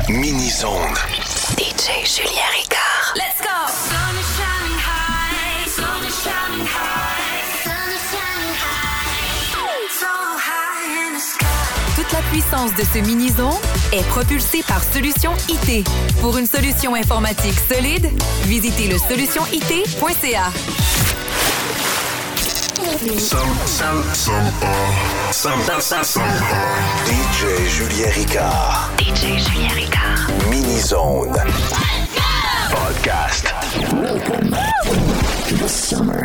Mini-zone. DJ Julien Ricard. Let's go! Sun is shining high, sun is shining high, sun is shining high, so high in the sky. Toute la puissance de ce mini-zone est propulsée par Solution IT. Pour une solution informatique solide, visitez le solutionit.ca. DJ Julien Ricard. DJ Julien Ricard. Mini-zone. Podcast. Welcome to the summer.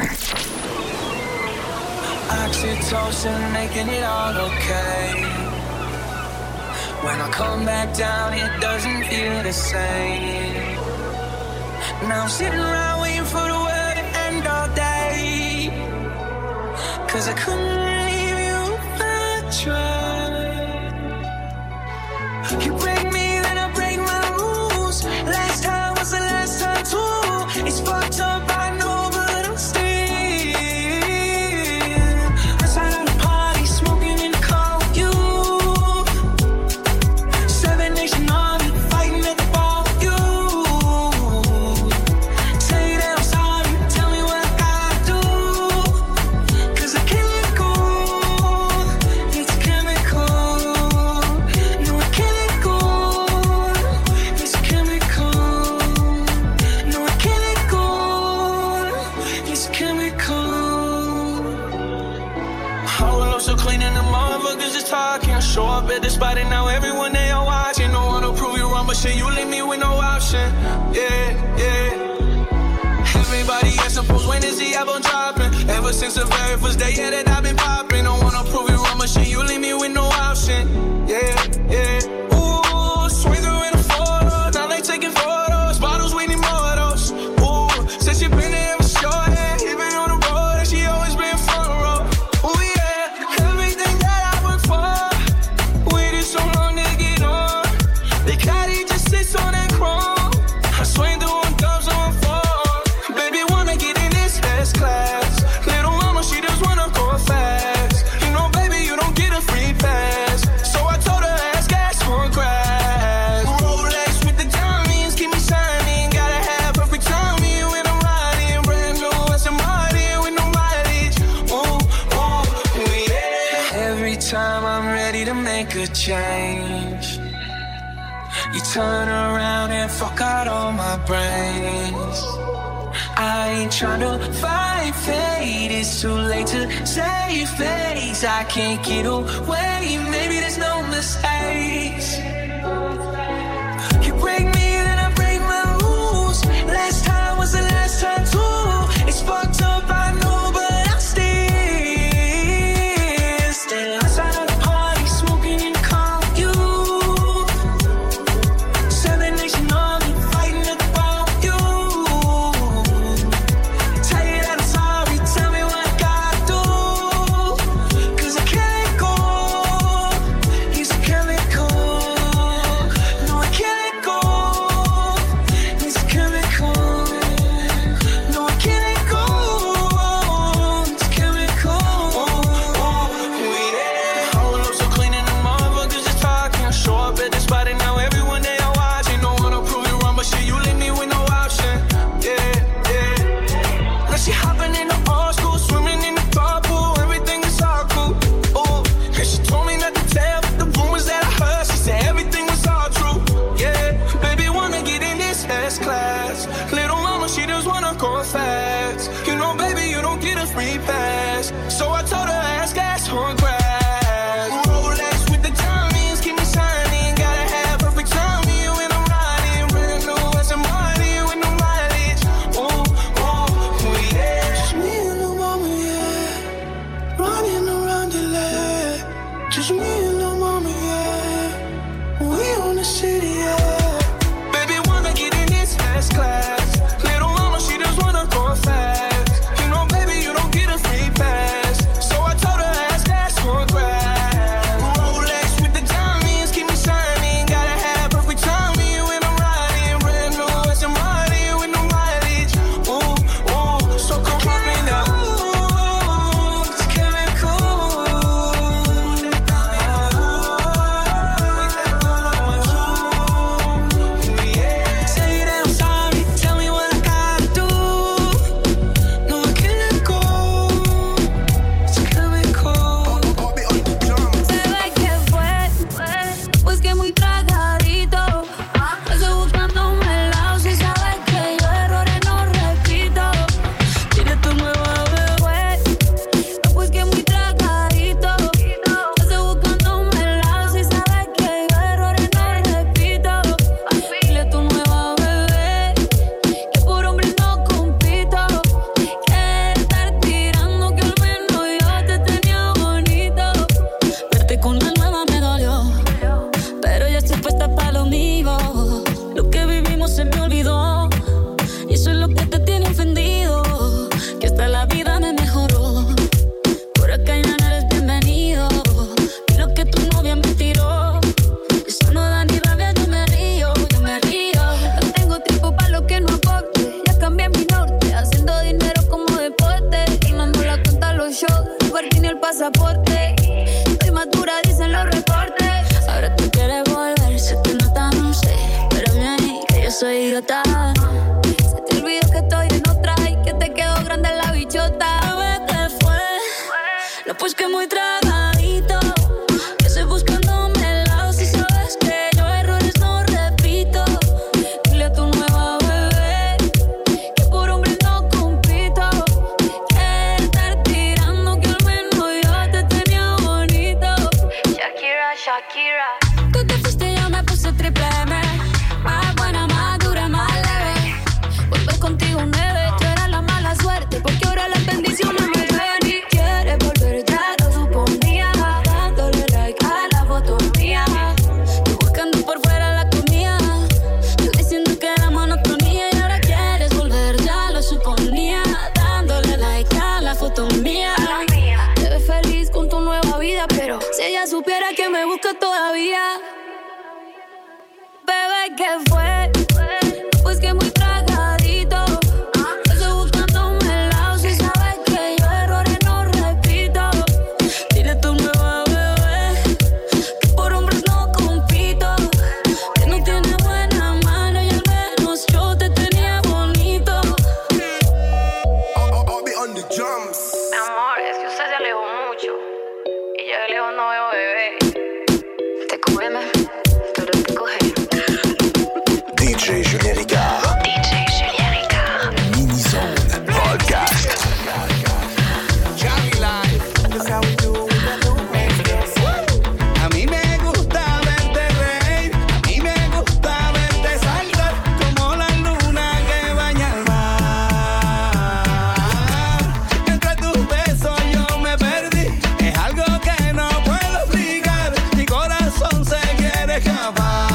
Oxytocin making it all okay. When I come back down, it doesn't feel the same. Now I'm sitting around waiting for the world to end all day. 'Cause I couldn't leave you if I tried. You break me, then I break my rules. Last time was the last time too. It's fucked up, I know, but I'm still outside of the party, smoking in the car with you. 7 Nation Army, fighting at the bar with you. Say that I'm sorry, tell me what I gotta do. 'Cause I can't let go, it's chemical. No, I can't let go, it's chemical. No, I can't let go, it's chemical. Hold up so clean and the motherfuckers is talking. Show up at the spot and now everyone they are watching. Don't wanna prove you wrong, but shit, you leave me with no option. Yeah, yeah. Everybody else supposed when is the album dropping? Ever since the very first day, yeah, that I've been popping. Don't wanna prove you wrong, but shit, you leave me with no option. Yeah, yeah. Ooh, swing through in a photo. Now they taking photos. Bottles, we need more of those. Ooh, said she been there for sure, yeah. Even on the road, and she always been front row. Ooh, yeah. Everything that I work for, waited so long to get on. The caddy just sits on that chrome. I swing through on dubs on four. Baby wanna get in this first class. Little mama, she just wanna go fast. You know, baby, you don't get a free pass. So I told her, ask gas for grass. Rolex with the diamonds, keep me shining. Gotta have perfect timing when I'm riding. Brand new Aston Martin with no mileage. Ooh, ooh, yeah. Every time I'm ready to make a change, you turn around and fuck out all my brains. I ain't tryna fight fate, it's too late to save face. I can't get away, maybe there's no mistakes. You break me, then I break my rules. Last time was the last time too. It's fucked up, I know, but I'm still outside of the party, smoking in the car with you. 7 Nation Army, fighting at the bar with you. Tell you that I'm sorry, tell me what I gotta do. 'Cause I can't let go, it's chemical. No, I can't let go, it's chemical. No, I can't let go, it's chemical. Yeah. Hold up so clean and the motherfuckers is talking. Show up at the spot and now everyone they are watching. Don't wanna prove you wrong, but shit, you leave me with no option. Yeah, yeah. Now she hopping in the old school, swimming in the carpool. Everything is all cool. Ooh, and she told me not to tell, but the rumors that I heard, she said everything was all true. Yeah, baby wanna get in this S class. Little mama, she just wanna go fast. You know, baby, you don't get a free pass. So I told her, ask gas on grass. Rolex with the diamonds, keep me shining. Gotta have perfect timing when I'm riding. Brand new Aston Martin with no mileage. Ooh, ooh, yeah. Just me and the mama, yeah. Running around the land. Just me and the mama, yeah. We on the city, yeah. Baby wanna get in this fast class. Little mama, she just wanna go fast. You know, baby, you don't get a free pass. So I told her, ask gas for grass. Rolex with the diamonds, keep me shining. Gotta have perfect timing when I'm riding. Brand new Aston Martin with no mileage. Ooh, ooh, so come pop me now. It's chemical. Pues que muy tragadito, que estoy buscándome el lado. Si sabes que yo errores no repito. Dile a tu nueva bebé que por hombre no compito. Que estar tirando que al menos yo te tenía bonito. Shakira, Shakira. Tú te fuiste, yo me puse triple M. Más buena, más dura, más leve. Volver contigo nueve, tú eras la mala suerte. Porque ahora las bendiciones me llueven y quieres volver, ya lo suponía. Dándole like a la foto mía. Tú buscando por fuera la comida. Yo diciendo que era monotonía. Y ahora quieres volver, ya lo suponía. Dándole like a la foto mía. Te ves feliz con tu nueva vida, pero si ella supiera que me busca todavía. Bebé, ¿qué fue? Pues que muy tragadito. Estoy buscándome el lado. Si sabes que yo errores no repito. Dile a tu nueva bebé que por hombres no compito. Que no tiene buena mano y al menos yo te tenía bonito. I'll be on the drums. Mi amor, es que usted se alejó mucho. Y yo de lejos no veo bebé. Te cógeme, pero te coge. DJ Julien Ricard. DJ Julien Ricard. Mini-Zone Podcast. A mí me gusta verte reír, a mí me gusta verte saltar como la luna que baña el mar. Entre tus besos yo me perdí, es algo que no puedo explicar. Mi corazón se quiere escapar.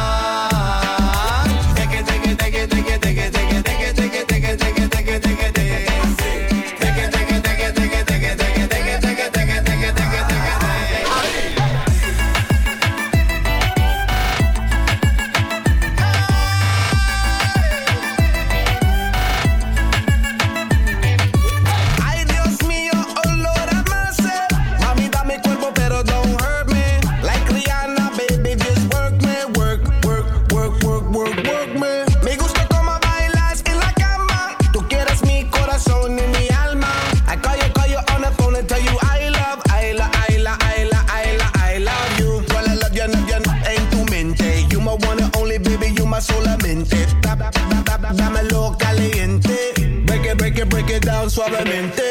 Ay, Dios mío, olor a máser. Mami, dame cuerpo, pero don't hurt me. Like Rihanna, baby, just work me. Work, work, work, work, work, work me. Me gusta cómo bailas en la cama. Tú quieres mi corazón y mi alma. I call you on the phone and tell you I love you. Well, I love you en tu mente. You my one and only, baby, you my solamente. Dámelo caliente. Break it down suavemente.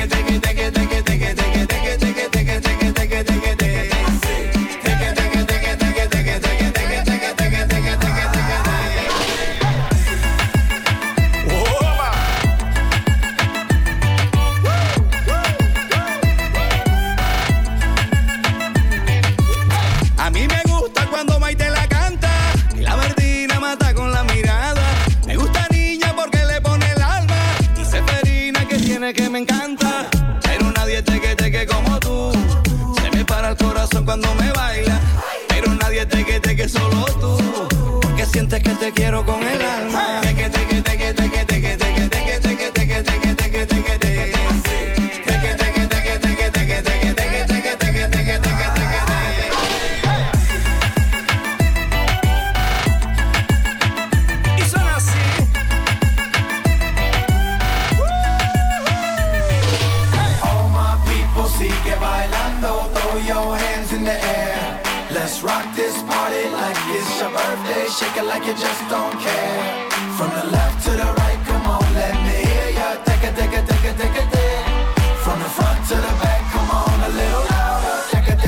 A mí me gusta cuando Maite la canta y la Verdina mata con la mirada. Me gusta niña porque le pone el alma y Seferina que tiene que me encanta. Pero nadie teque como tú. Se me para el corazón cuando me baila. Pero nadie teque solo tú. Porque sientes que te quiero con el alma. Y son así. All my people sigue bailando, throw your hands in the air. Let's rock this party like it's your birthday. Shake it like you just don't care. From the left to the right, come on, let me hear ya. Take it. From the front to the back, come on, a little louder. Take it.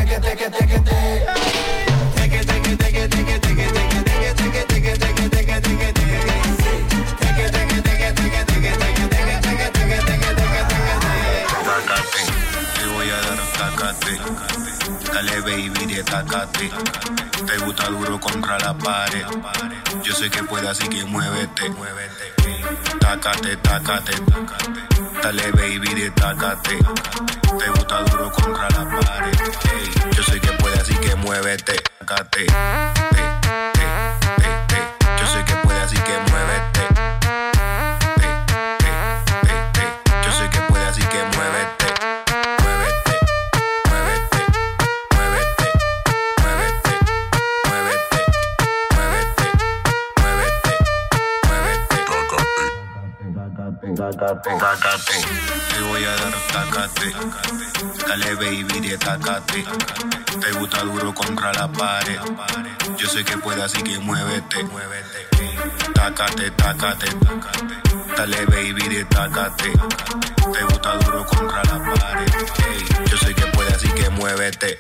Te voy a dar tácate, dale baby de tácate. Te gusta duro contra la pared. Yo sé que puedes, así que muévete. Tácate, dale baby de tácate. Te gusta duro contra la pared. Yo sé que puedes, así que muévete. Tácate, yo sé que puedes, así que muévete. Yo sé que puedes, así que muévete. tácate. Te voy a dar tácate. Dale baby de tácate. Te gusta duro contra la pared. Yo sé que puedes, así que muévete. Tácate. Dale baby de tácate. Te gusta duro contra la pared. Ey, yo sé que puedes, así que muévete.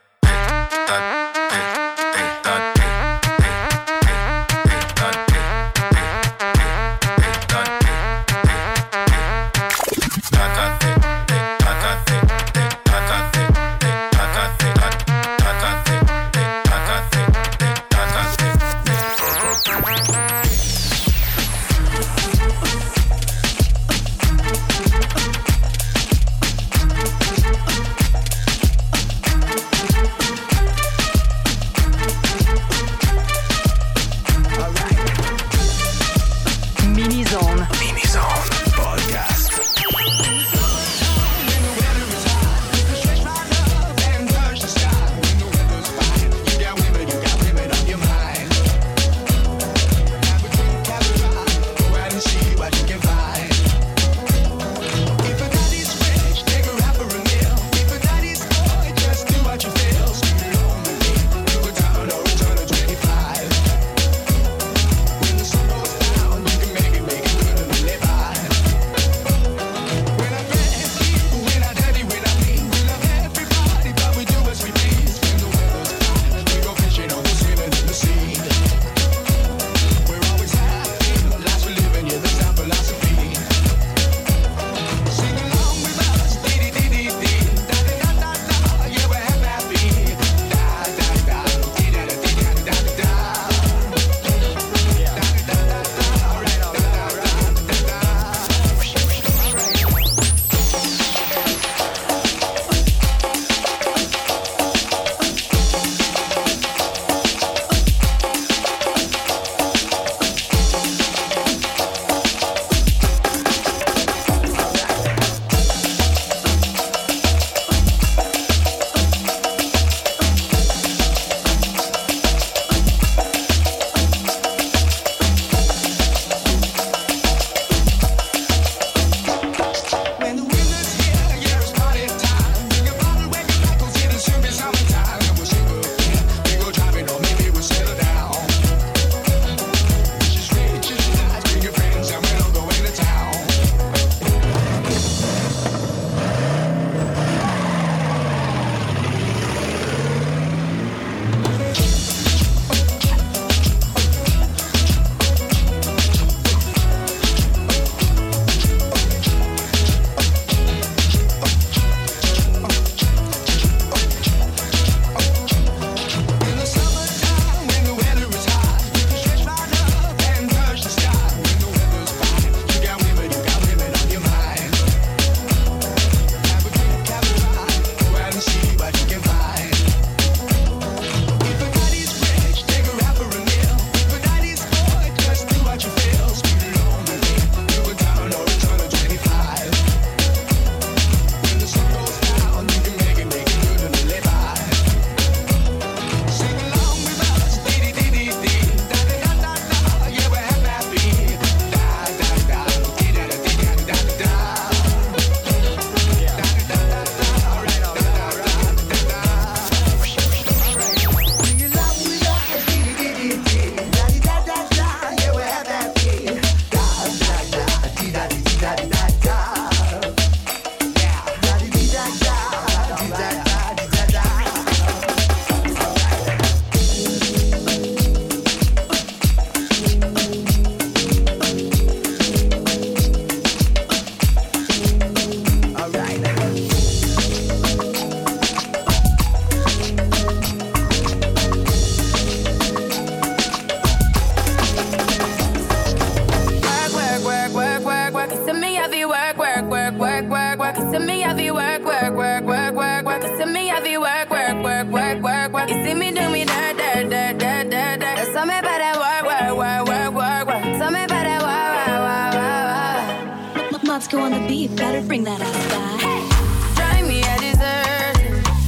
Moscow on the beat, better bring that ass back. Drive me a dessert.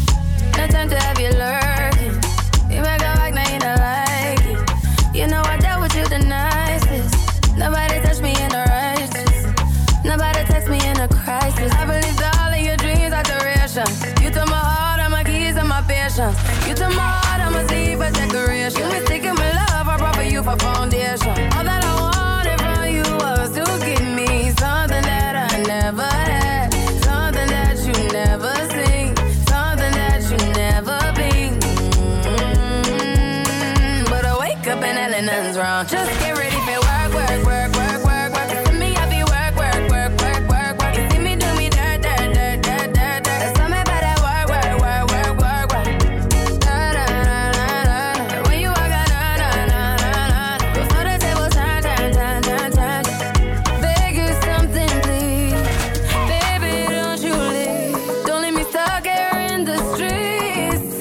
No time to have you lurking. You make a like, now you don't like it. You know I dealt with you the nicest. Nobody touched me in the righteous. feeling nothing's wrong. Just get ready for work, work, work, work, work, work. You see me, I be work, work, work, work, work, work. You see me do me dirt, dirt, dirt, dirt, dirt, dirt. Tell me about that work, work, work, work, work, work. Na, na, na, na, na. When you walk out, na, na, na, na, na. Before the table turn, turn, turn, turn, turn. Beg you something, please. Baby, don't you leave. Don't leave me stuck here in the streets. If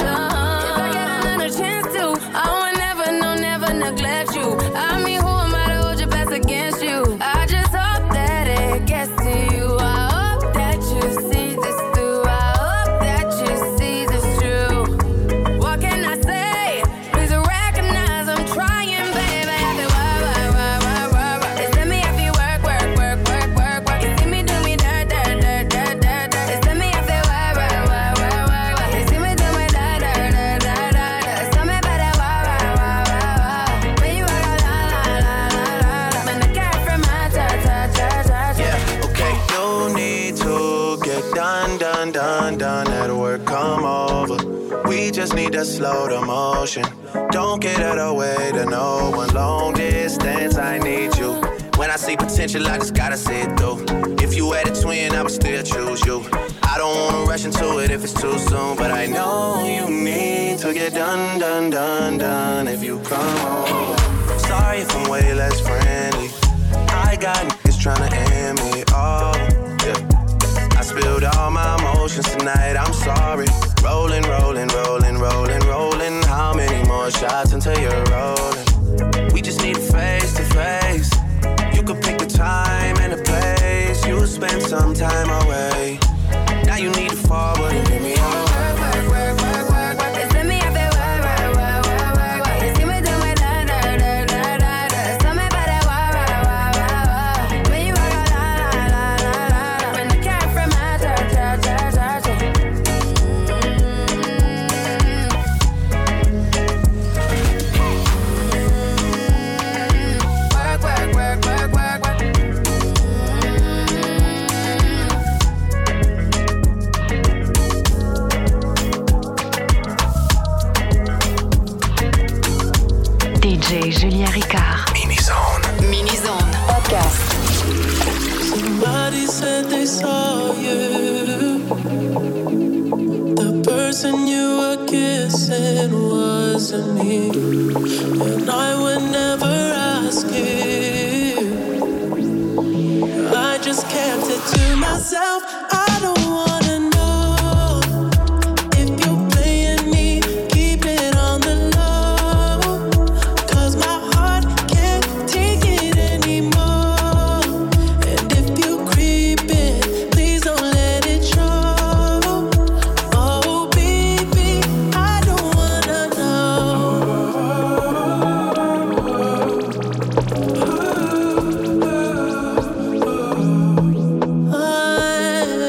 I get another chance to, I won't never, no, never neglect you. I mean, who am I to hold your best against you? I just hope that it gets to you. I hope that you see this through. I hope that you see this true. What can I say? Please recognize I'm trying, baby. I feel work, work, work, work, work, work. They send me I feel work, work, work, work, work, work. You see me do me dirt, dirt, dirt, dirt, dirt, dirt. They send me I feel work, work, work, work, work, work. You see me do me dirt, dirt, dirt, dirt, dirt. Tell me about that work, work, work, work, work. When you walk out, la, la, la, la, la. Man, I got from my touch, touch, touch, touch. Yeah, okay. No need to get done, done, done, done at work. Come over. We just need to slow the motion. Don't get out of the way to no one. Long distance, I need you. When I see potential, I just gotta see it through. If you had a twin, I would still choose you. I don't wanna rush into it if it's too soon, but I know you need to get done, done, done, done if you come over. Sorry if I'm way less friendly. I got niggas tryna end me off. Yeah. I spilled all my emotions tonight, I'm sorry. Rolling, rolling, rolling, rolling, rolling. How many more shots until you're rolling? We just need a face to face. You could pick the time and the place. You spend some time away. Now you need to forward and give me all. Work, work, work, work, work, work. They send me I feel work, work, work, work, work, work. You see me do my dirt, dirt, dirt, dirt, dirt, dirt. Tell me about that work, work, work, work, work. When you walk out, la, la, la, la, la, la. When the cat from my touch, touch, touch, touch. Work, work, work, work, work, work. DJ Julien Ricard. Mini-zone. Mini-zone. Podcast. Somebody said they saw you. The person you were kissing wasn't me. And I would never ask you. I just kept it to myself. I don't wanna know if you're playing me. Keep it on the low. 'Cause my heart can't take it anymore. And if you creep it, please don't let it show. Oh baby, I don't wanna know. I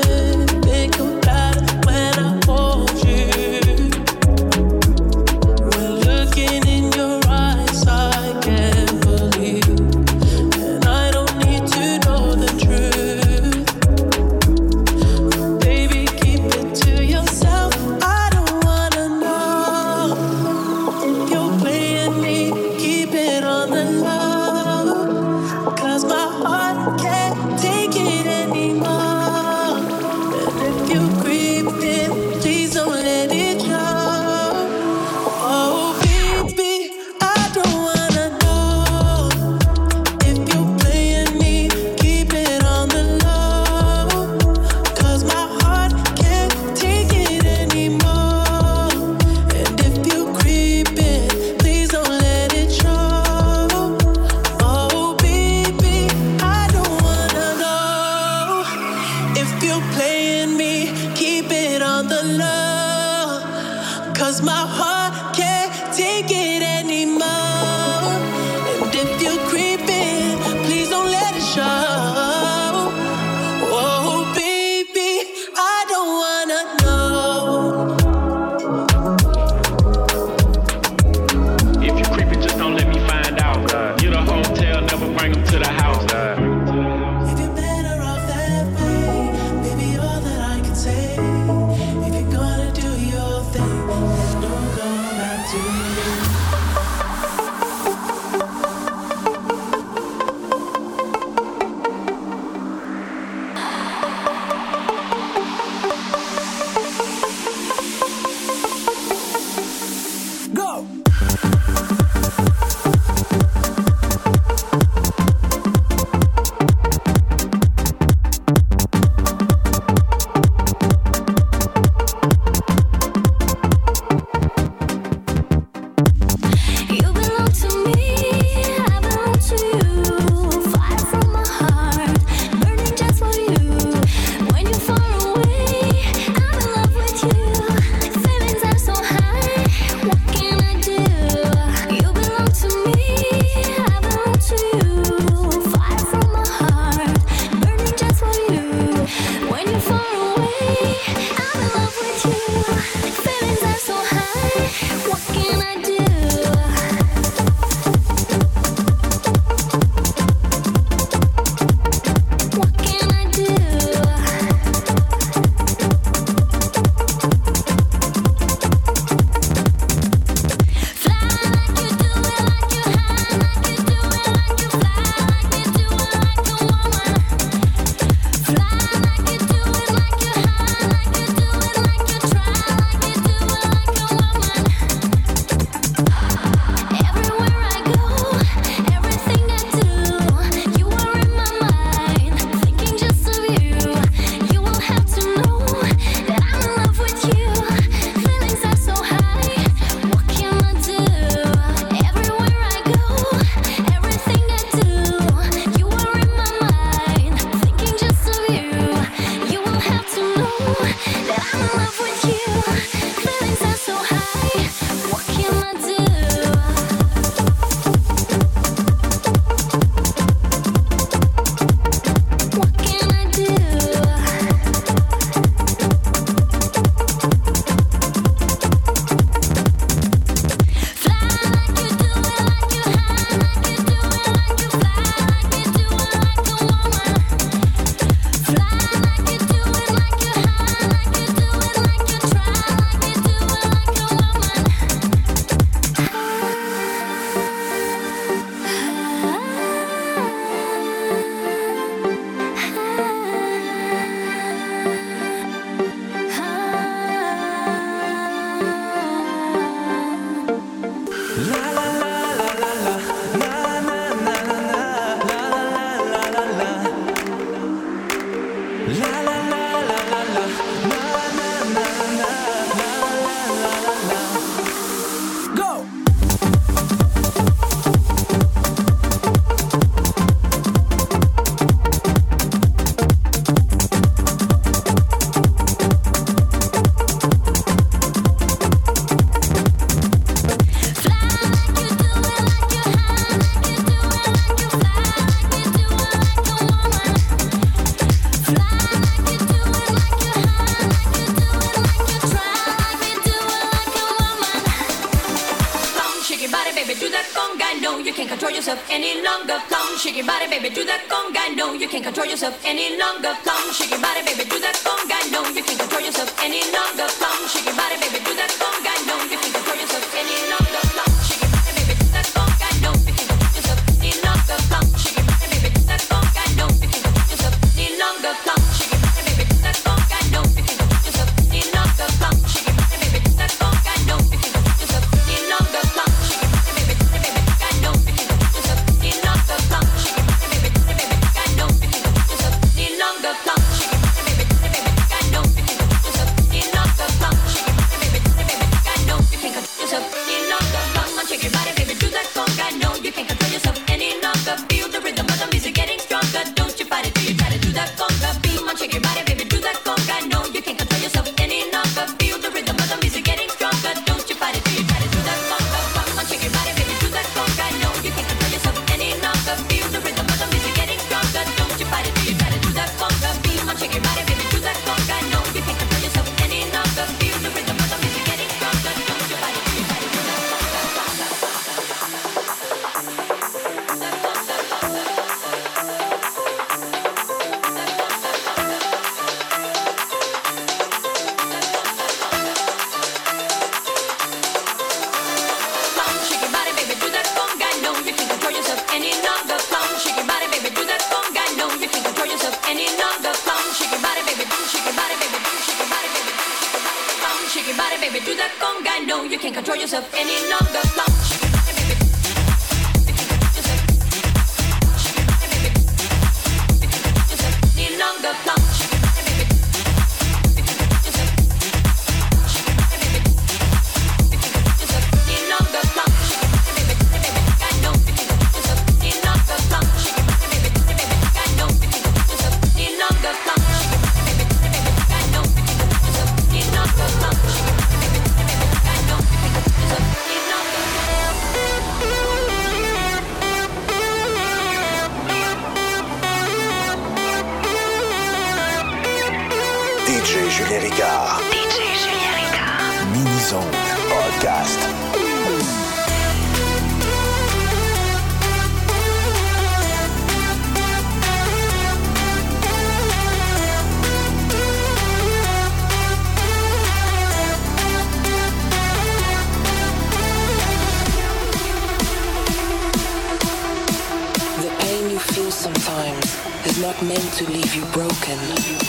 conga. No, you can't control yourself any longer. Come, shake your body, baby, do that conga. No, you can't control yourself any longer. Come, shake your body, baby, do that conga. No, you can't control yourself any longer. Come, shake your body, baby, do that conga. No, you can't control yourself any longer. Come, shake your body, baby, do that conga. No, you can't control yourself any longer. Come, shake your body, baby, do that conga. No, you can't control yourself any longer. Come, shake your body, baby, do that conga. No, you can't control yourself any longer. Come, shake your body, baby, do that conga. No, you can't control yourself any longer. Come, shake your body, baby, do that baby. No, you can't control yourself any longer. Come, shake your body, baby, do that baby. No, you can't control yourself any longer. Come, shake your body, baby, do that baby. No, you can't control yourself any longer. Come, shake your body, baby, do that baby. No, you can't control yourself any longer. Come on, shake your body, baby, do that conga. No, you can't control yourself any longer. Feel the rhythm of the music getting stronger. Don't you fight it till you try to do that conga. Come on, shake your body, baby, do that conga. No, you can't control yourself any longer. Feel the rhythm of the music getting stronger. Don't you fight it till you try to do that conga. Come on, shake your body, baby, do that conga. No, you can't control yourself any longer. Feel the rhythm of the music getting stronger. Don't you fight it till you try to do that conga. Come on, shake your body, baby, do that conga. No, you can't control yourself any longer. Feel the rhythm of the music getting stronger. Don't you fight it till you try to do that Come, shake your body, baby, do that conga. No, you can't control yourself any longer. Come, shake your body, baby, do that conga. No, you can't control yourself any longer. Come, shake your body, baby, shake your body, baby, shake your body, baby, come, shake your body, baby, do that conga. No, you can't control yourself any longer. Come, shake your body, baby, shake your body, baby, any longer. Come, shake your body, baby, shake your body, baby, any longer. Come, shake your body, baby, no, you can't control yourself any longer. Come, shake your body, baby, no, you can't control yourself any longer. Come, shake your body, baby, no, you can't control yourself any longer. Come, shake your body, baby, no, you can't control yourself any longer. DJ Julien Ricard. DJ Julien Ricard. Mini Zone Podcast. The pain you feel sometimes is not meant to leave you broken.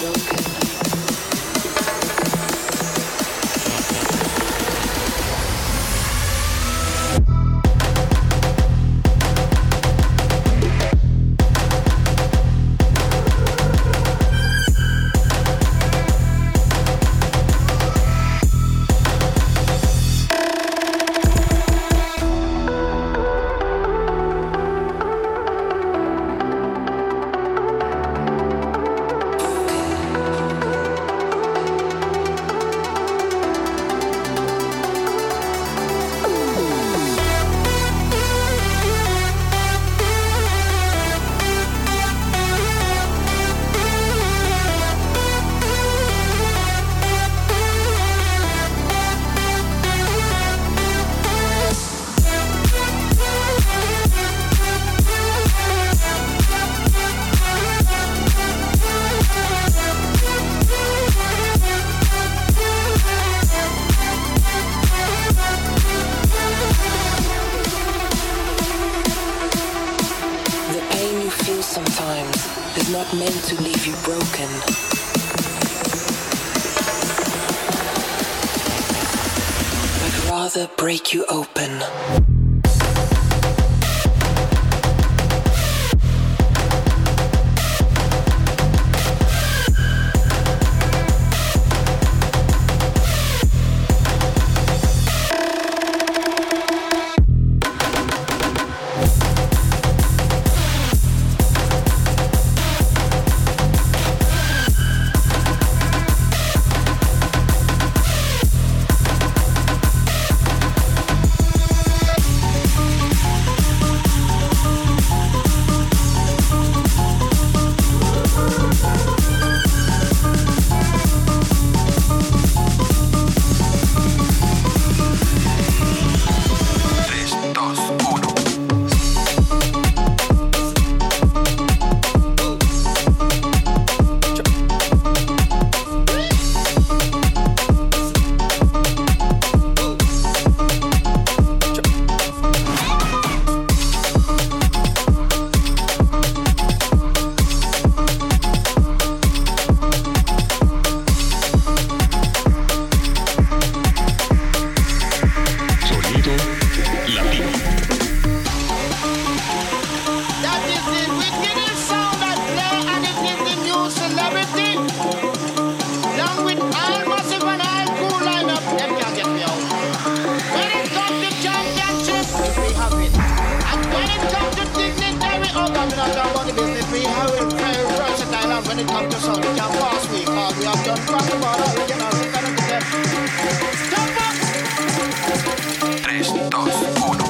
Not meant to leave you broken. But rather break you open. have to sound, we can't pass we, cause we have done cross the border, original, we cannot get. Jump up! 3, 2, 1.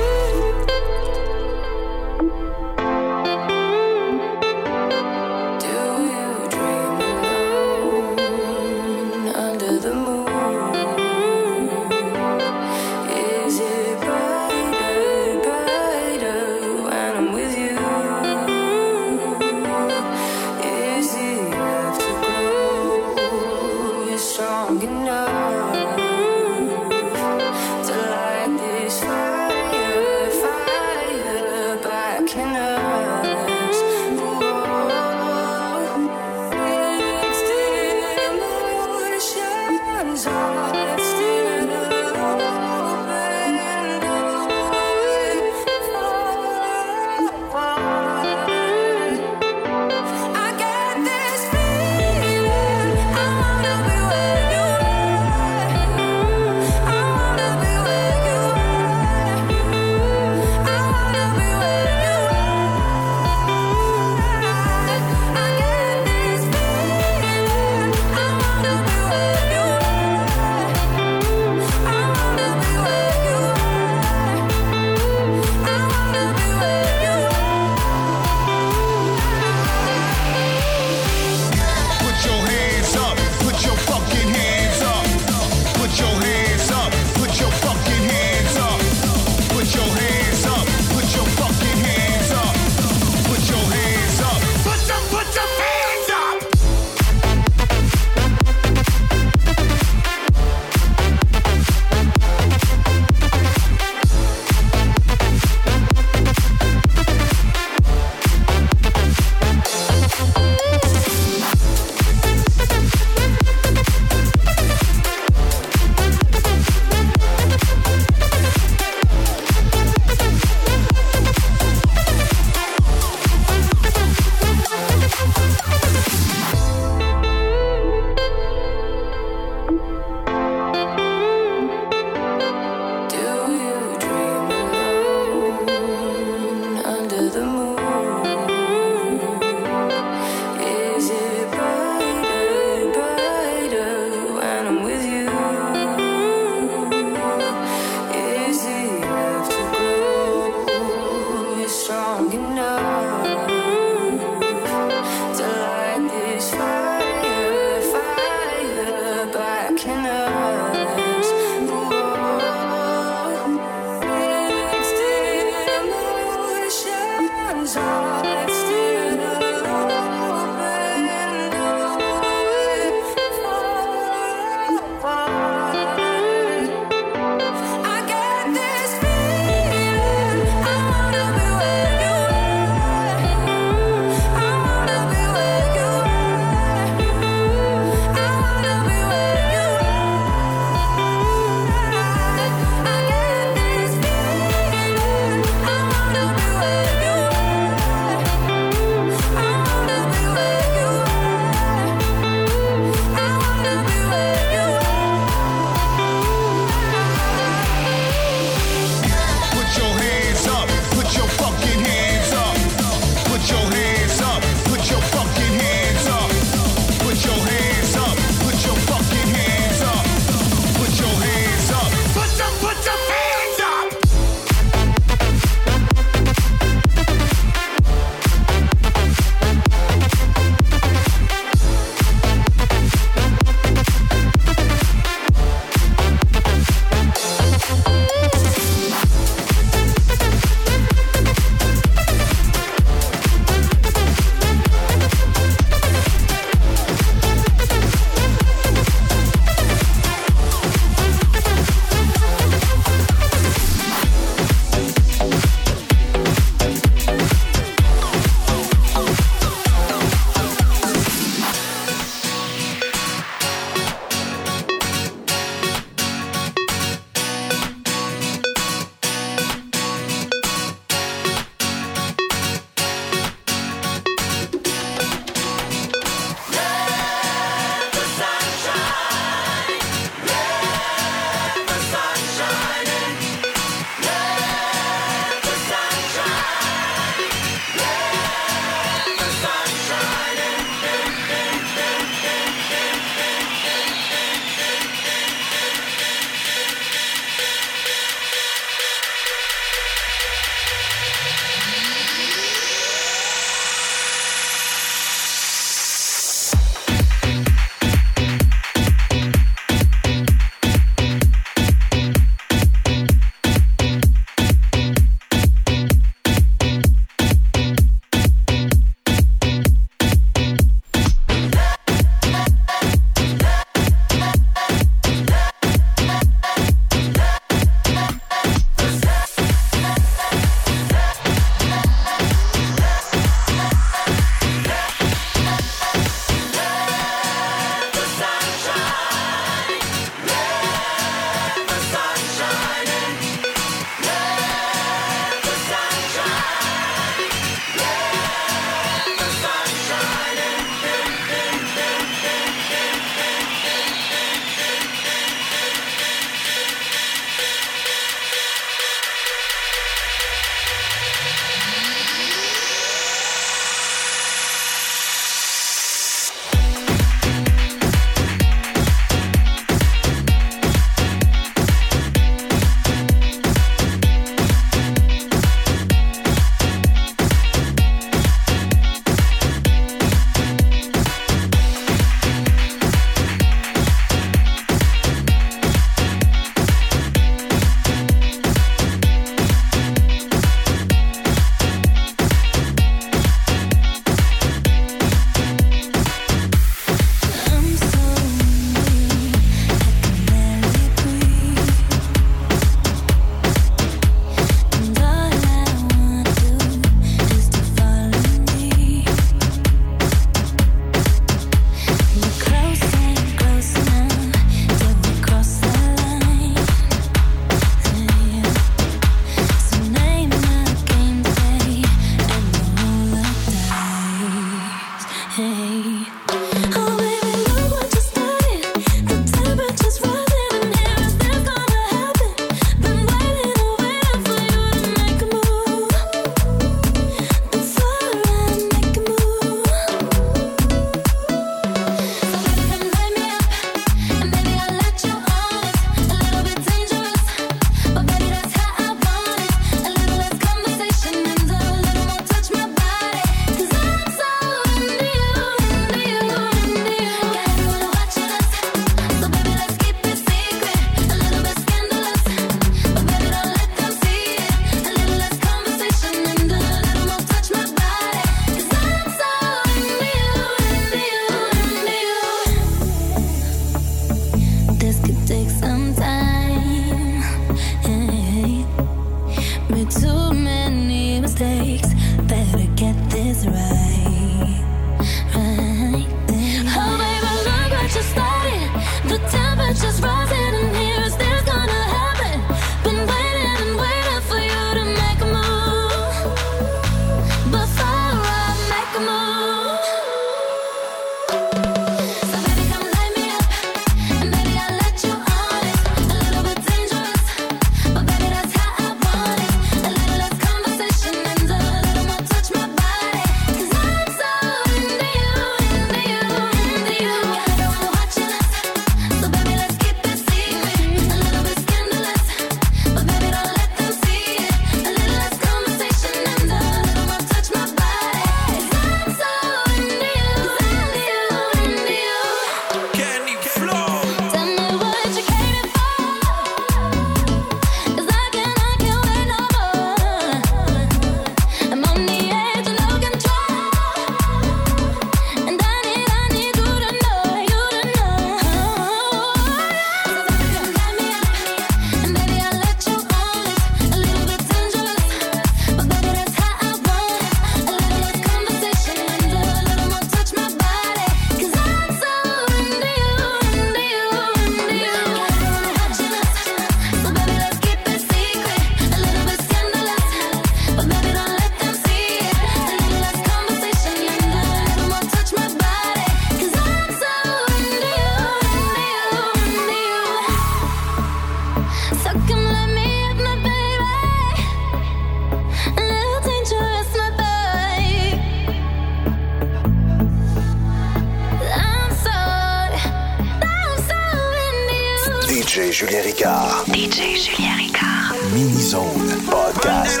Julien Ricard. DJ Julien Ricard. Mini-Zone Podcast.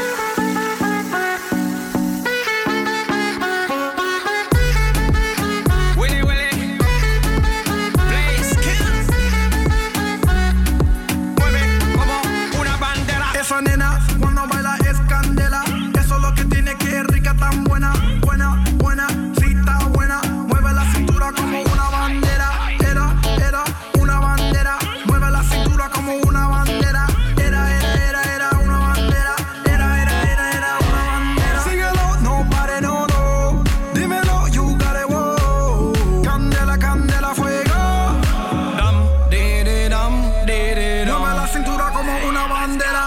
Esa nena cuando baila es candela. Eso es lo que tiene, que es rica, tan buena. Buena, buena, sí está buena. Mueve la cintura como una bandera. Era una bandera. Mueve la cintura como una bandera. Era una bandera. Era una bandera. Síguelo, no pare, no. Dímelo, you got it, wow. Candela, candela, fuego. Dam, de, dam, de. Mueve la cintura como una bandera.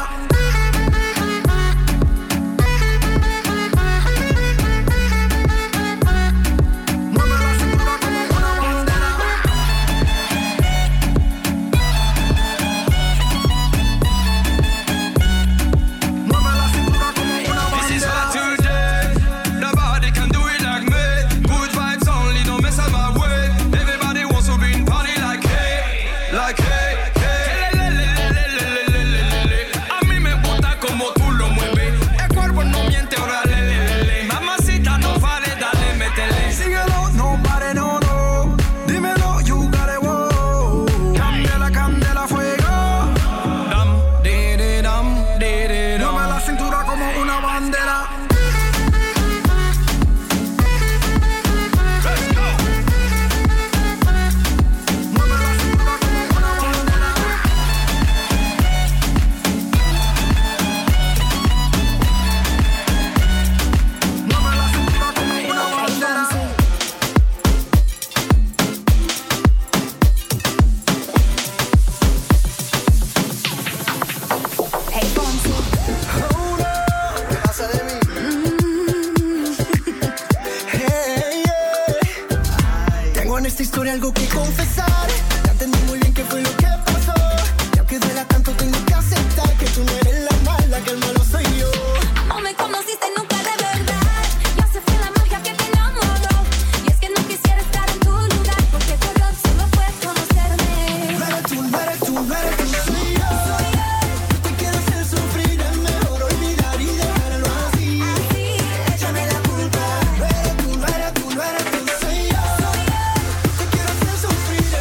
Algo que confesar, ya entendí muy bien qué fue lo que pasó. Y aunque duela tanto tengo que aceptar que tú no eres la mala, que el malo soy yo. No me conociste nunca de verdad. Yo sé fue la magia que te enamoró. Y es que no quisiera estar en tu lugar, porque tu error solo fue conocerme. No eres tú, no eres tú, no eres tú, soy yo. Yo te quiero hacer sufrir, es mejor olvidar y dejarlo así. Échame la culpa. No eres tú, no eres tú, no eres tú, soy yo. Te quiero hacer sufrir.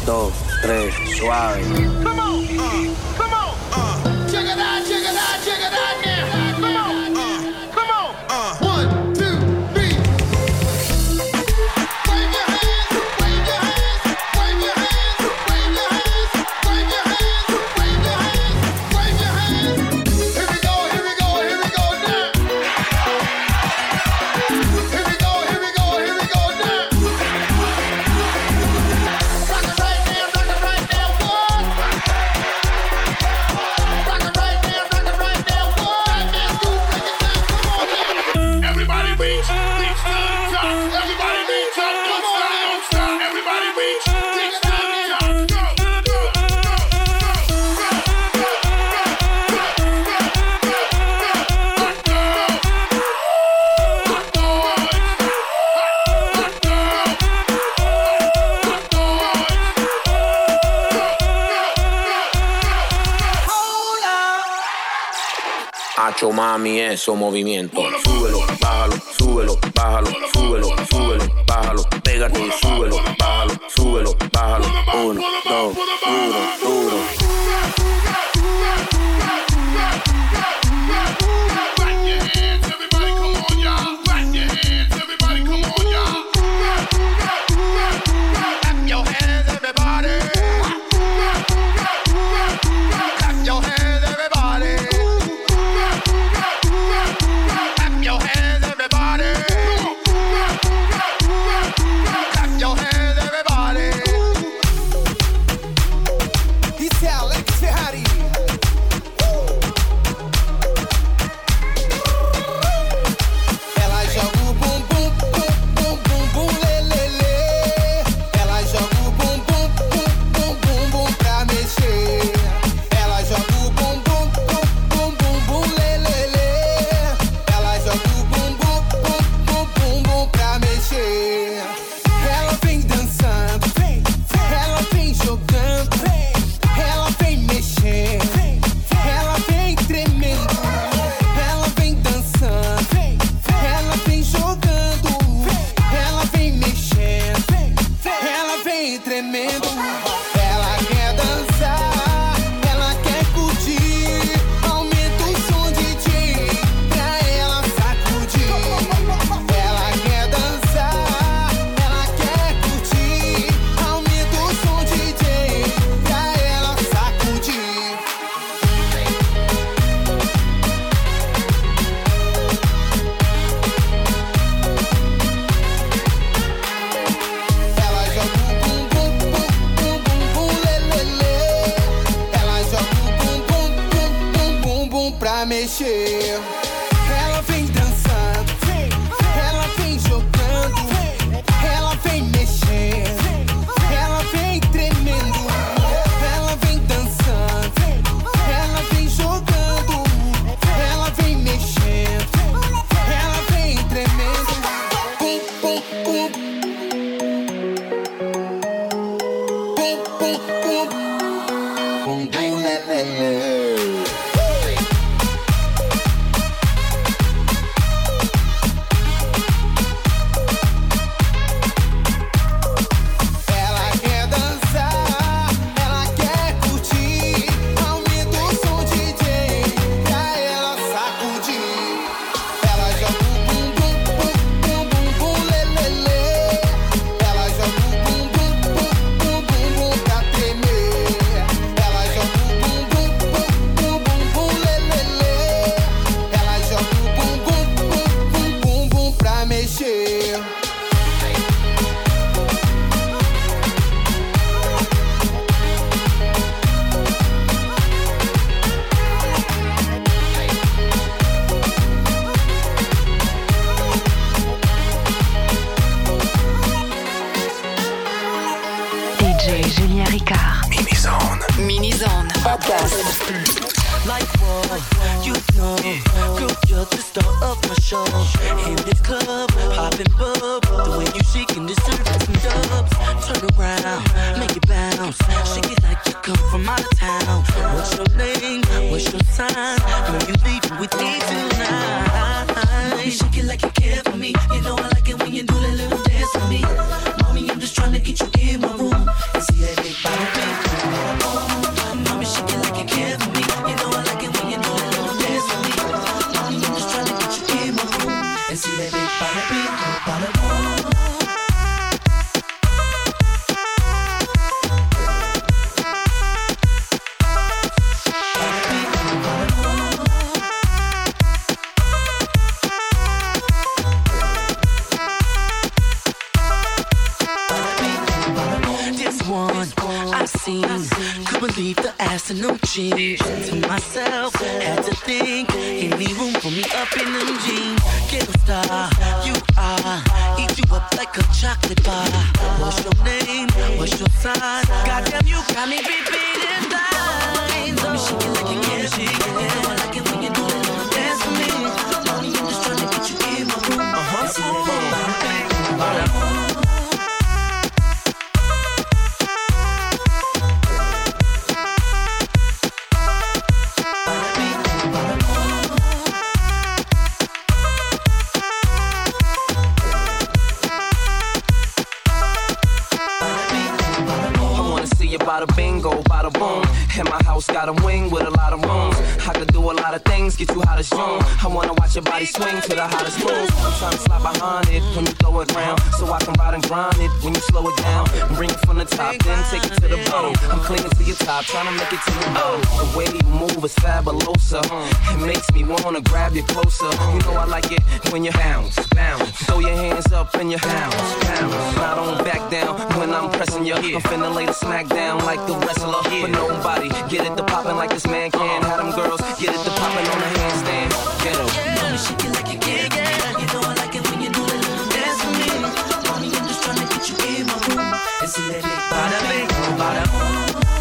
2, 3, suave. Come on. Check it out, check it out, check it out now. Come on. 1, 2, 3. Wave your hands, wave your hands, wave your hands, wave your hands, wave your hands, wave your hands, wave your hands. Here we go, here we go, here we go now. Here we go, here we go, here we go now. Rock it right now, rock it right now, what? Rock it right now, what? Let's go, break it down, come on now. Everybody reach to the top. Everybody reach up, don't stop. Everybody reach to the top. Hacho mami, eso movimiento. Súbelo, bájalo, súbelo, bájalo, súbelo, súbelo, bájalo. Pégate y súbelo, bájalo, súbelo, bájalo. 1, 2, duro, duro. Clap your hands, everybody, come on, y'all. Clap your hands, everybody, come on, y'all. Clap your hands, everybody. Clap your hands, everybody. Clap your hands, everybody. Clap your hands, everybody. This is Alex Ferrari. Ela joga o bumbum, bum, bum, bum, bum, lê, lê, lê. Ela joga o bumbum, bum, bum, bum, bum pra mexer. Ela joga o bumbum, bum, bum, bum, bum, lê, lê, lê. Ela joga o bumbum, bum, bum, bum, bum pra mexer. Ela vem dançando, ela vem jogando, ela vem mexendo, ela vem tremendo, ela vem dançando, ela vem jogando, ela vem mexendo, ela vem tremendo. Ela quer dançar, ela quer curtir. Aumenta o som, DJ, pra ela sacudir. Ela quer dançar, ela quer curtir. Aumenta o som, DJ, pra ela sacudir. Ela joga o bumbum, bum, bum, bum, bum, lê, lê, lê. Ela joga o bumbum, bum, bum, bum, bum pra mexer. Ela vem dançando, ela vem jogando, ela vem mexendo, ela vem tremendo, ela vem dançando, ela vem jogando, ela vem mexendo, ela vem tremendo. Bum, bum, bum. Bum, bum, bum. Bum, bum, lê, lê, lê. Ela quer dançar, ela quer curtir. Aumenta o som, DJ, pra ela sacudir. Ela joga o bumbum, bum, bum, bum, bum, lê, lê, lê. Ela joga o bumbum, bum, bum, bum, bum pra tremer. Ela joga o bumbum, bum, bum, bum, bum, lê, lê, lê. Ela joga o bumbum, bum, bum, bum, bum pra mexer. DJ Julien Ricard. Mini-zone. Podcast. Like what? You know, girl, you're the star of my show. In this club, popping bub. The way you shaking this serve some dubs. Turn around, make it bounce. Shake it like you come from out of town. What's your name? What's your sign? Girl, you leaving with me tonight. You shake it like you care for me. You know I like it when you do that little dance for me. Mommy, I'm just trying to get you in my room and see that big one I seen. Could believe the ass and them jeans. To myself, had to think, any room for me up in them jeans. Ghetto star, you are. Eat you up like a chocolate bar. What's your name? What's your sign? Goddamn, you got me repeating lines. Let me shake it like you can shake it. I like it when you do it. Dance for me. Mommy, I'm just trying to get you in my room. See that Bada bingo, bada boom. And my house got a wing with a lot of rooms. I could do a lot of things, get you hot as June. I wanna watch your body swing to the hottest moves. I'm trying to slide behind it when you throw it round, so I can ride and grind it when you slow it down. Bring it from the top, then take it to the bottom. I'm clinging to your top, trying to make it to the bottom. The way you move is fabulosa. It makes me wanna grab you closer. You know I like it when you bounce, bounce. Throw your hands up and you bounce, bounce. I don't back down when I'm pressing you. I'm finna lay the smack down like the wrestler, but nobody get it to poppin' like this man can. Have them girls get it to poppin' on the handstand. Get em. Mommy, shake it like you can. You know I like it when you do it. Dance for me. Mommy, I'm just trying to get you in my room. And see that big bada bing, bada boom.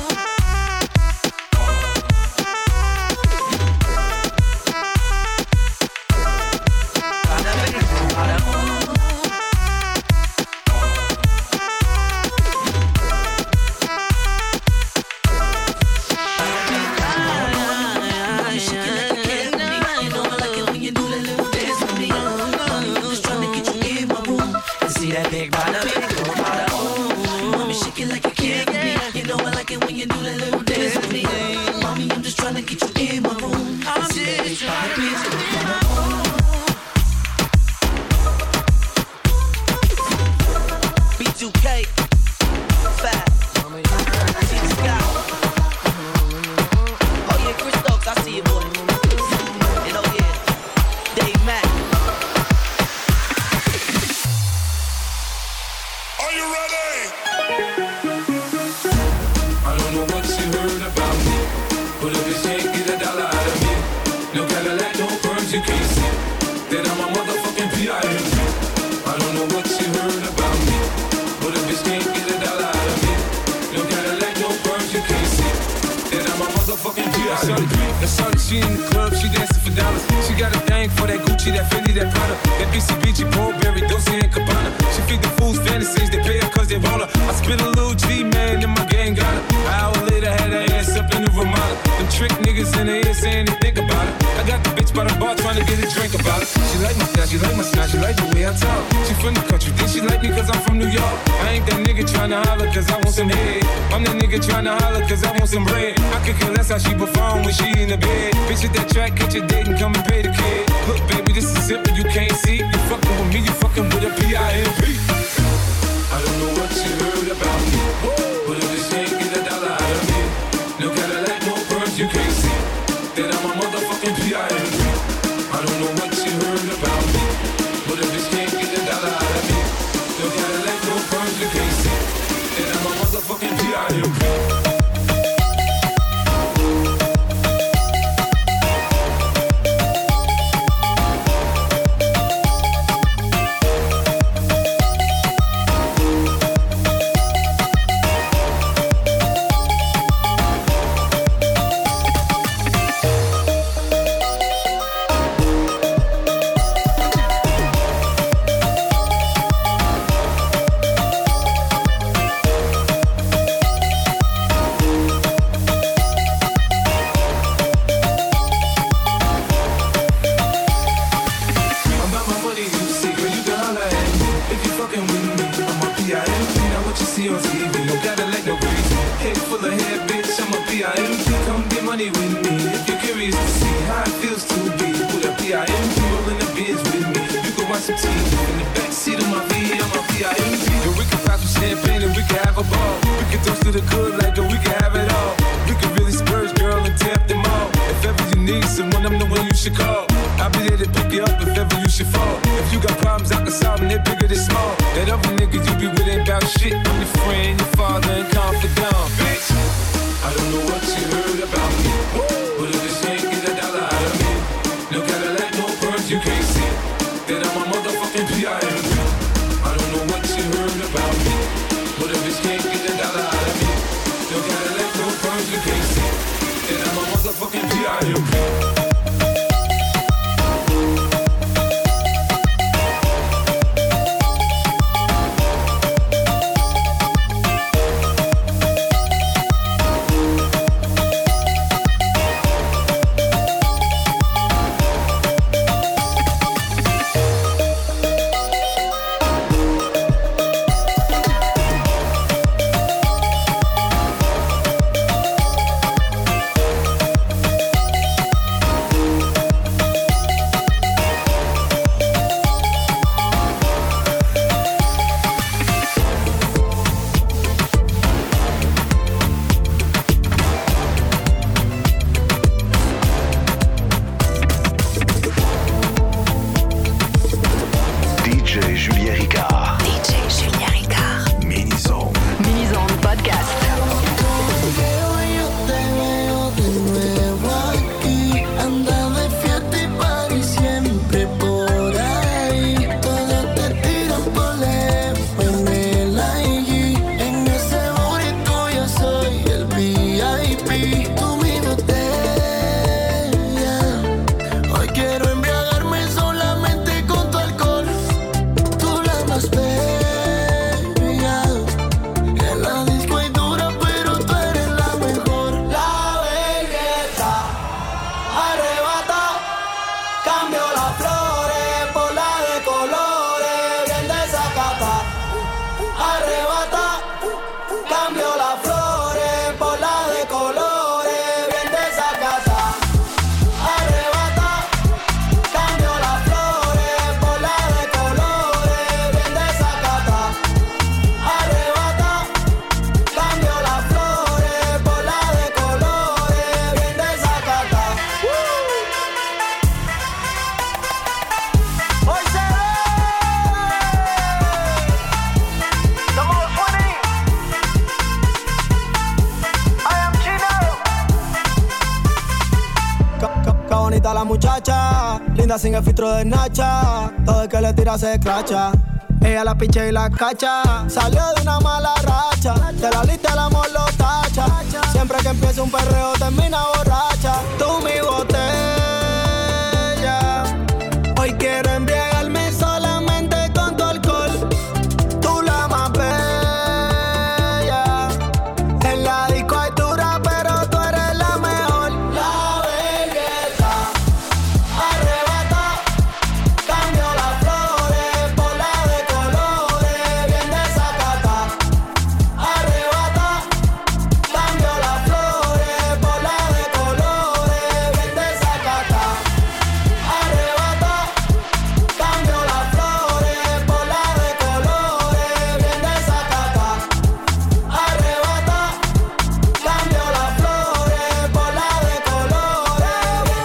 She in the club, she dancing for dollars. She got a thing for that Gucci, that Fendi, that Prada, that BCBG, Burberry, Dolce & Gabbana. She feed the fools fantasies, they pay her cause they want her. I spent a little G, man, and my gang got her. An hour later, had her ass up in the Ramada. Them trick niggas in the ear saying they think about it. I got the bitch by the bar trying to get a drink about it. She like my style, she like my smile, she like the way I talk. She from the country, then she like me cause I'm from New York. I ain't that nigga trying to holler cause I want some head. I'm that nigga trying to holler cause I want some bread. I could care less how she perform when she in the bed. Bitch at that track, catch your date and come and pay the kid. Look, baby, this is simple, you can't see. You fucking with me, you fucking with a P.I.M.P. I don't know what you heard about me, but if this can't get a dollar out of me, no Cadillac, no perms, you can't see that I'm a motherfucking P.I.M.P. I don't know what you heard about me, but if this can't get a dollar out of me, no Cadillac, no perms, you can't see that I'm a motherfucking P.I.M.P. Shit, I'm your friend, your father, and bitch can't get the dollar out of me. No Cadillac, no perms, you can't see. And I'm a motherfucking P.I.O.P. La muchacha, linda sin el filtro de Nacha. Todo el que le tira se escracha. Ella la picha y la cacha. Salió de una mala racha. De la lista el amor lo tacha. Siempre que empieza un perreo termina borracha. Tú mi botella. Hoy quiero embriagarme solamente con tu alcohol. Tú la más bella. En la disco hay dura, pero tú eres la mejor. La belleza arrebata. Cambio las flores por la de colores. Bien desacata. Arrebata. Cambio las flores por la de colores. Bien desacata. Arrebata. Cambio las flores por la de colores. Bien desacata. Arrebata. Cambio las flores por la de colores. Bien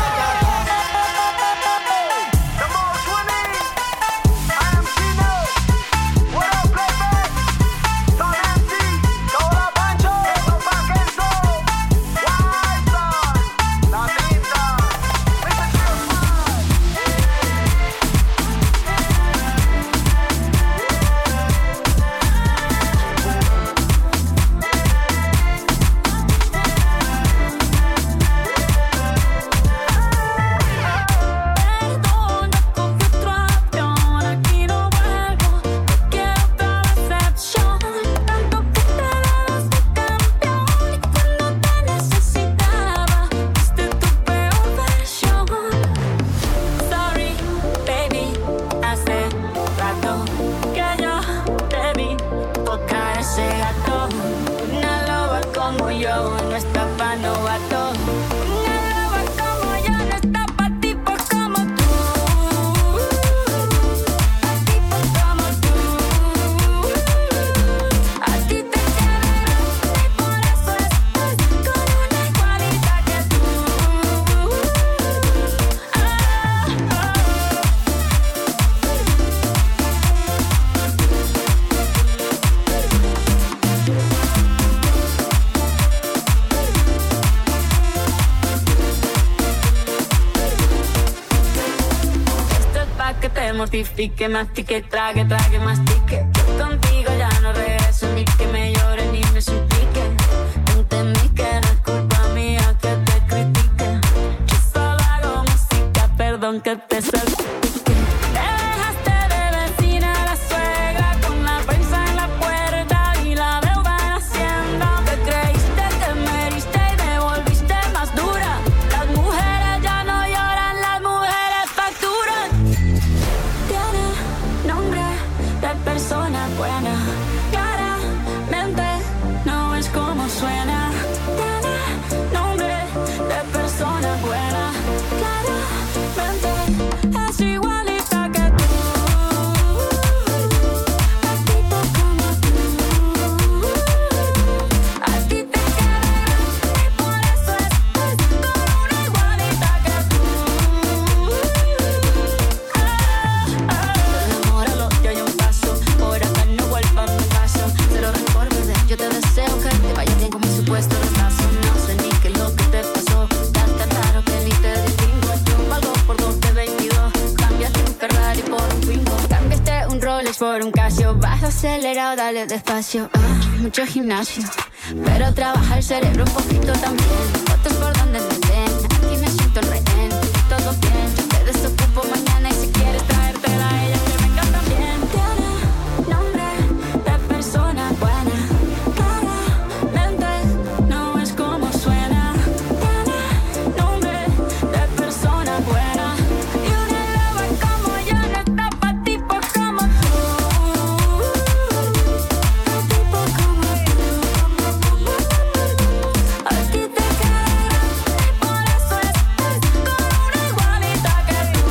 Perdona con que otro avión, aquí no vuelvo, no quiero otra decepción. Tanto que te dabas de campeón y cuando te necesitaba, fuiste tu peor versión. Sorry, baby, hace rato que yo te vi tocar ese gato. Una loba como yo no está pa' novato. Una loba como yo no está pa' tipos como tú. Pa' tipos como tú. A ti te quiero y por eso estoy con una igualita que tú. Esto es pa' que te mortifique, mastique, trague, mastique. Yo contigo ya no regreso ni que un Casio. Vas acelerado, dale despacio. Mucho gimnasio, pero trabaja el cerebro un poquito también. Fotos por donde me ven, aquí me siento el rehén. Todo bien, yo te desocupo mañana y si quieres traértela a ella que venga también. Tiene nombre de persona buena, claramente no es como suena. Tiene nombre de persona buena y una loba como yo no está pa' tipos como tú. Tipo como tú. A ti te queda, por eso estás con una igualita que tú.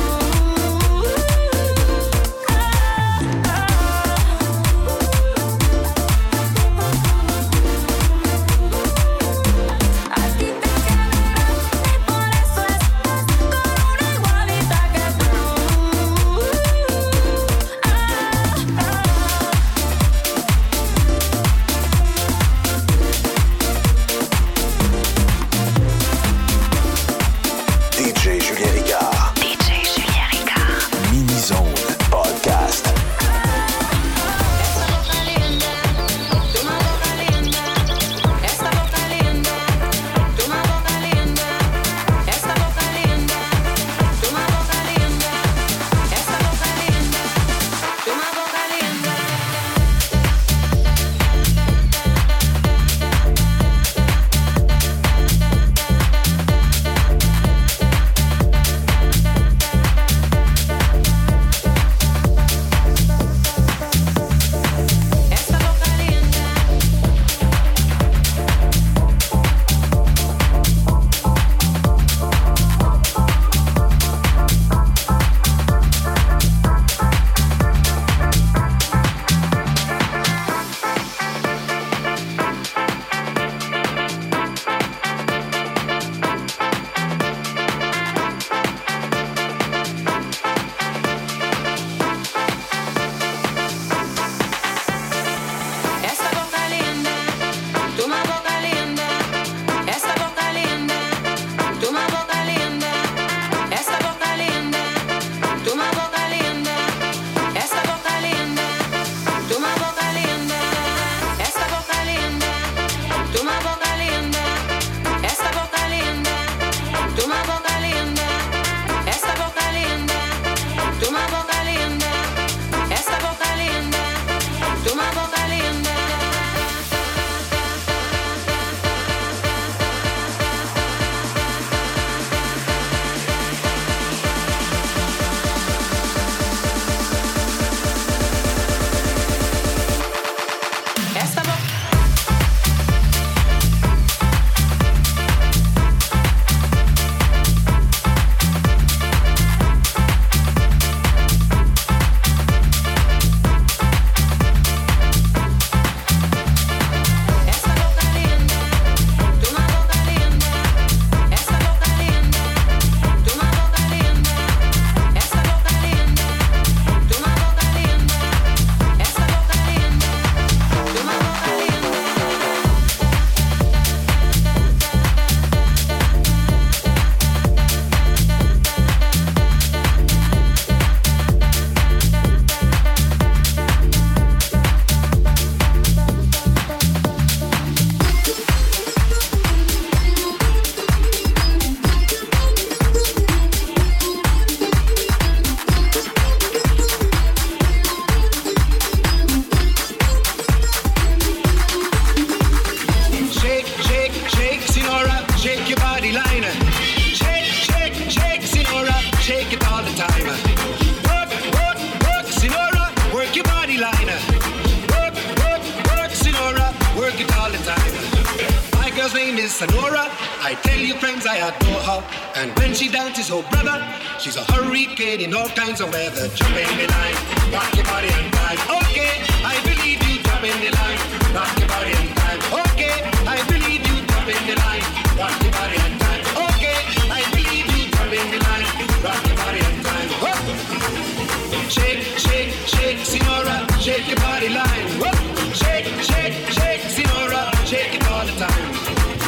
A ti te queda, por eso estás con una igualita que tú. DJ Julien Ricard. DJ Julien Ricard. Mini Zone Podcast. Sonora, I tell you friends I adore her. And when she dances, oh brother, she's a hurricane in all kinds of weather. Jump in the line, rock your body and time. Okay, I believe you, jump in the line, rock your body and time. Okay, I believe you, jump in the line, rock your body and time. Okay, I believe you, jump in the line, rock your body and time. Whoop. Shake, shake, shake, Sonora, shake your body line. Whoop. Shake, shake, shake, Sonora, shake it all the time.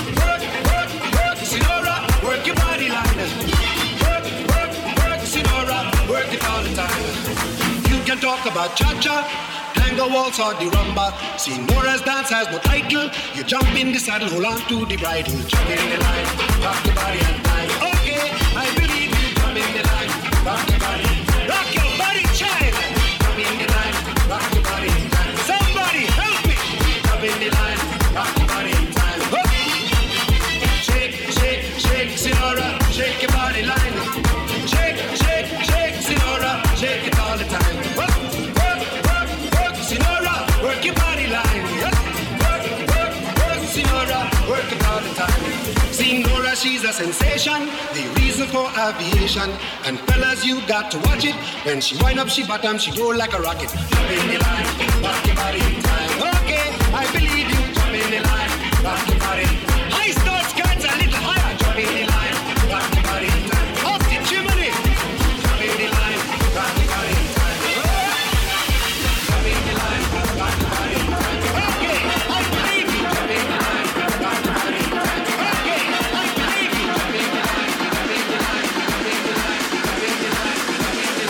Work your body line. Work, work, work, Sonora. Work it all the time. You can talk about cha-cha, the waltz or the rumba. See, Nora's dance has no title. You jump in the saddle, hold on to the bridle. Jump in the line, rock the body and time. Okay, I believe you. Jump in the line, rock the body. Rock your body, child. Jump in the line, rock the body in time. Somebody help me. Jump in the line, rock the body in time. Shake, shake, shake, Sinora, shake your body line. Shake, shake, shake, Sinora, shake it all the time. Work, work, work, work, Sinora, work your body line. Work, work, work, Sinora, work it all the time. See Nora, she's a sensation, the reason for aviation. And fellas, you got to watch it. When she wind up, she bottom, she go like a rocket. Jump in the line, rock your body in time. Okay, I believe you. Jump in the line, rock your body. High start skirts a little higher. Jump in the line, rock your body in time. Off the chimney. Jump in the line, rock your body in time. Jump in the line, rock your body in time. Okay, I believe you. Jump in the line, rock your body in time. Okay, I believe you. Jump in the line, jump in the line, jump in the line, jump in the line, jump in the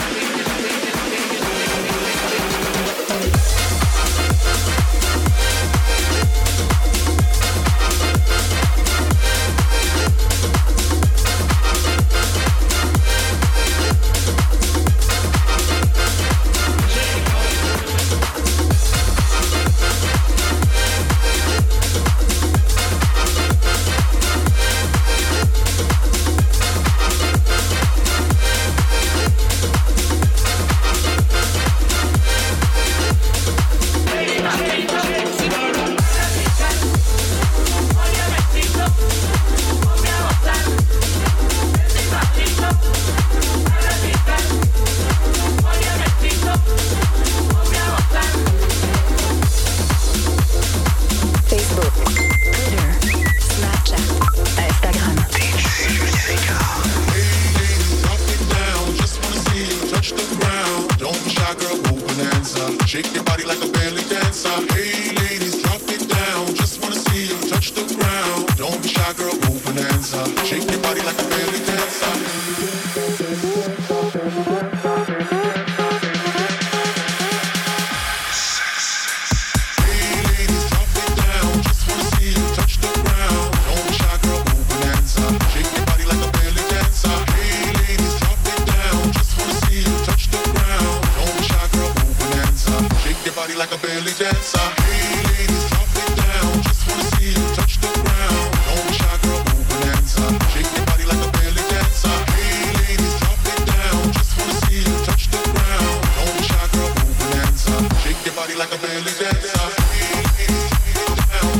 Shake your body like a belly dancer. Hey ladies, drop it down. Just wanna see you touch the ground. Don't be shy, girl, go bonanza. Shake your body like a belly dancer. Hey ladies, drop it down. Just wanna see you touch the ground. Don't be shy, girl, go bonanza. Shake your body like a belly dancer. Hey ladies, drop it down. Just wanna see you touch the ground. Don't be shy, girl, go bonanza. Shake your body like a belly dancer. Hey ladies, drop it down. Just wanna see you touch the ground. Don't be shy, girl, go bonanza. Shake your body like a belly dancer. Hey ladies, drop it down. Just wanna see you touch the ground. Don't be shy, girl, go bonanza. Shake your body like a belly dancer. Hey ladies, drop it down.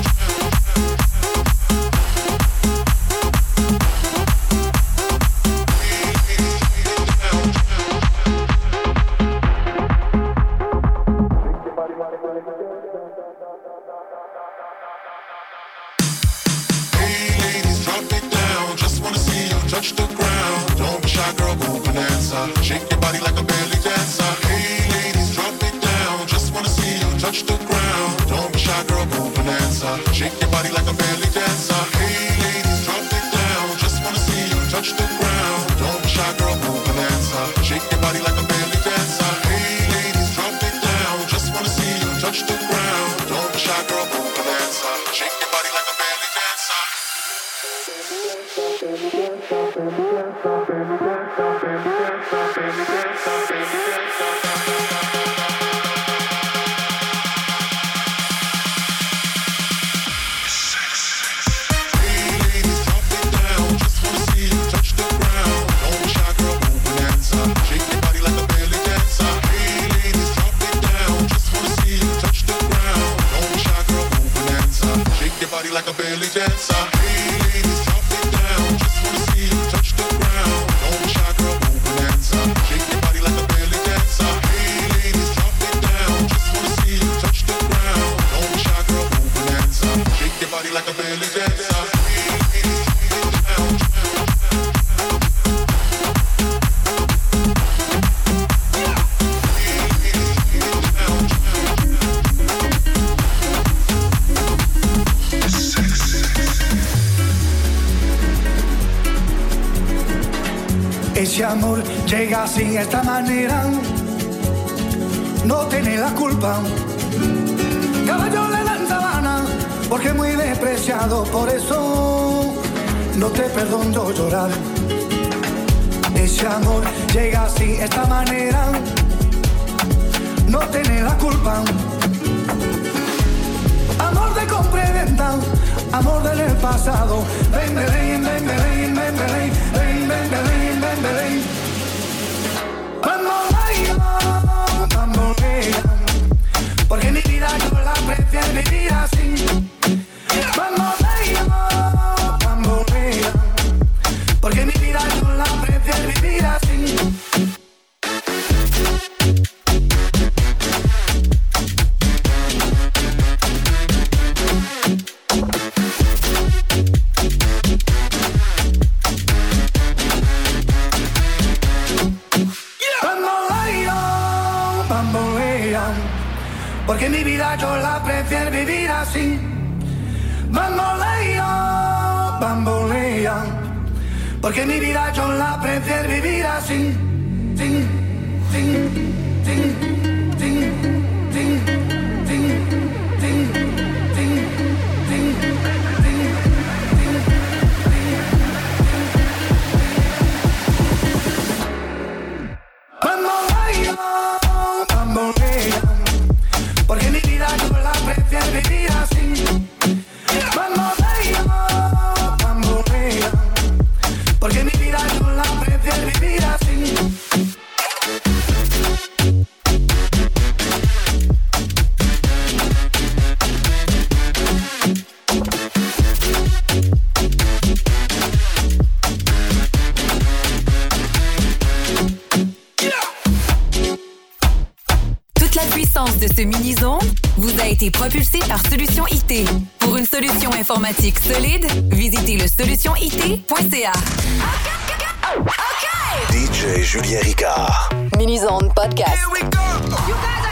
Touch the ground, don't be shy, girl, go bonanza. Shake your body like a belly dancer. Hey ladies, drop it down. Just wanna see you touch the ground. Don't be shy, girl, go bonanza. Shake your body like a belly dancer. Hey ladies, drop it down. Just wanna see you touch the ground. Don't be shy, girl, go bonanza. Shake your body like a belly dancer. Hey ladies, drop it down. Just wanna see you touch the ground. Don't be shy, girl, go bonanza. Shake your body like a belly dancer. Like a belly dancer. Hey ladies, drop it down. Just wanna see you touch the ground. Don't be shy, girl, go bonanza. Shake your body like a belly dancer. Hey ladies, drop it down. Just wanna see you touch the ground. Don't be shy, girl, go bonanza. Shake your body like a belly dancer. Hey ladies, drop it down. Ese amor llega así, esta manera. No tiene la culpa porque muy despreciado, por eso no te perdono llorar. Ese amor llega así, esta manera, no tiene la culpa. Amor de compra y venta, amor del pasado. Ven, ven, ven, ven, ven, ven, ven, ven, ven, ven, ven, ven. Bambolea, porque mi vida yo la prefiero vivir así. Bambolea, bambolea, porque mi vida yo la prefiero vivir así. Porque mi vida yo la prefiero vivir así. Bambolea, bambolea, porque mi vida yo la prefiero vivir así. Ting, ting, ting, ting, ting, ting, ting, ting, ting, bambolea, bambolea, porque mi vida yo la prefiero vivir así. Bambolea, bambolea, porque mi vida yo la prefiero vivir así. La puissance de ce mini-zone vous a été propulsée par Solution IT. Pour une solution informatique solide, visitez le solutionit.ca. DJ Julien Ricard. Mini-zone podcast. You guys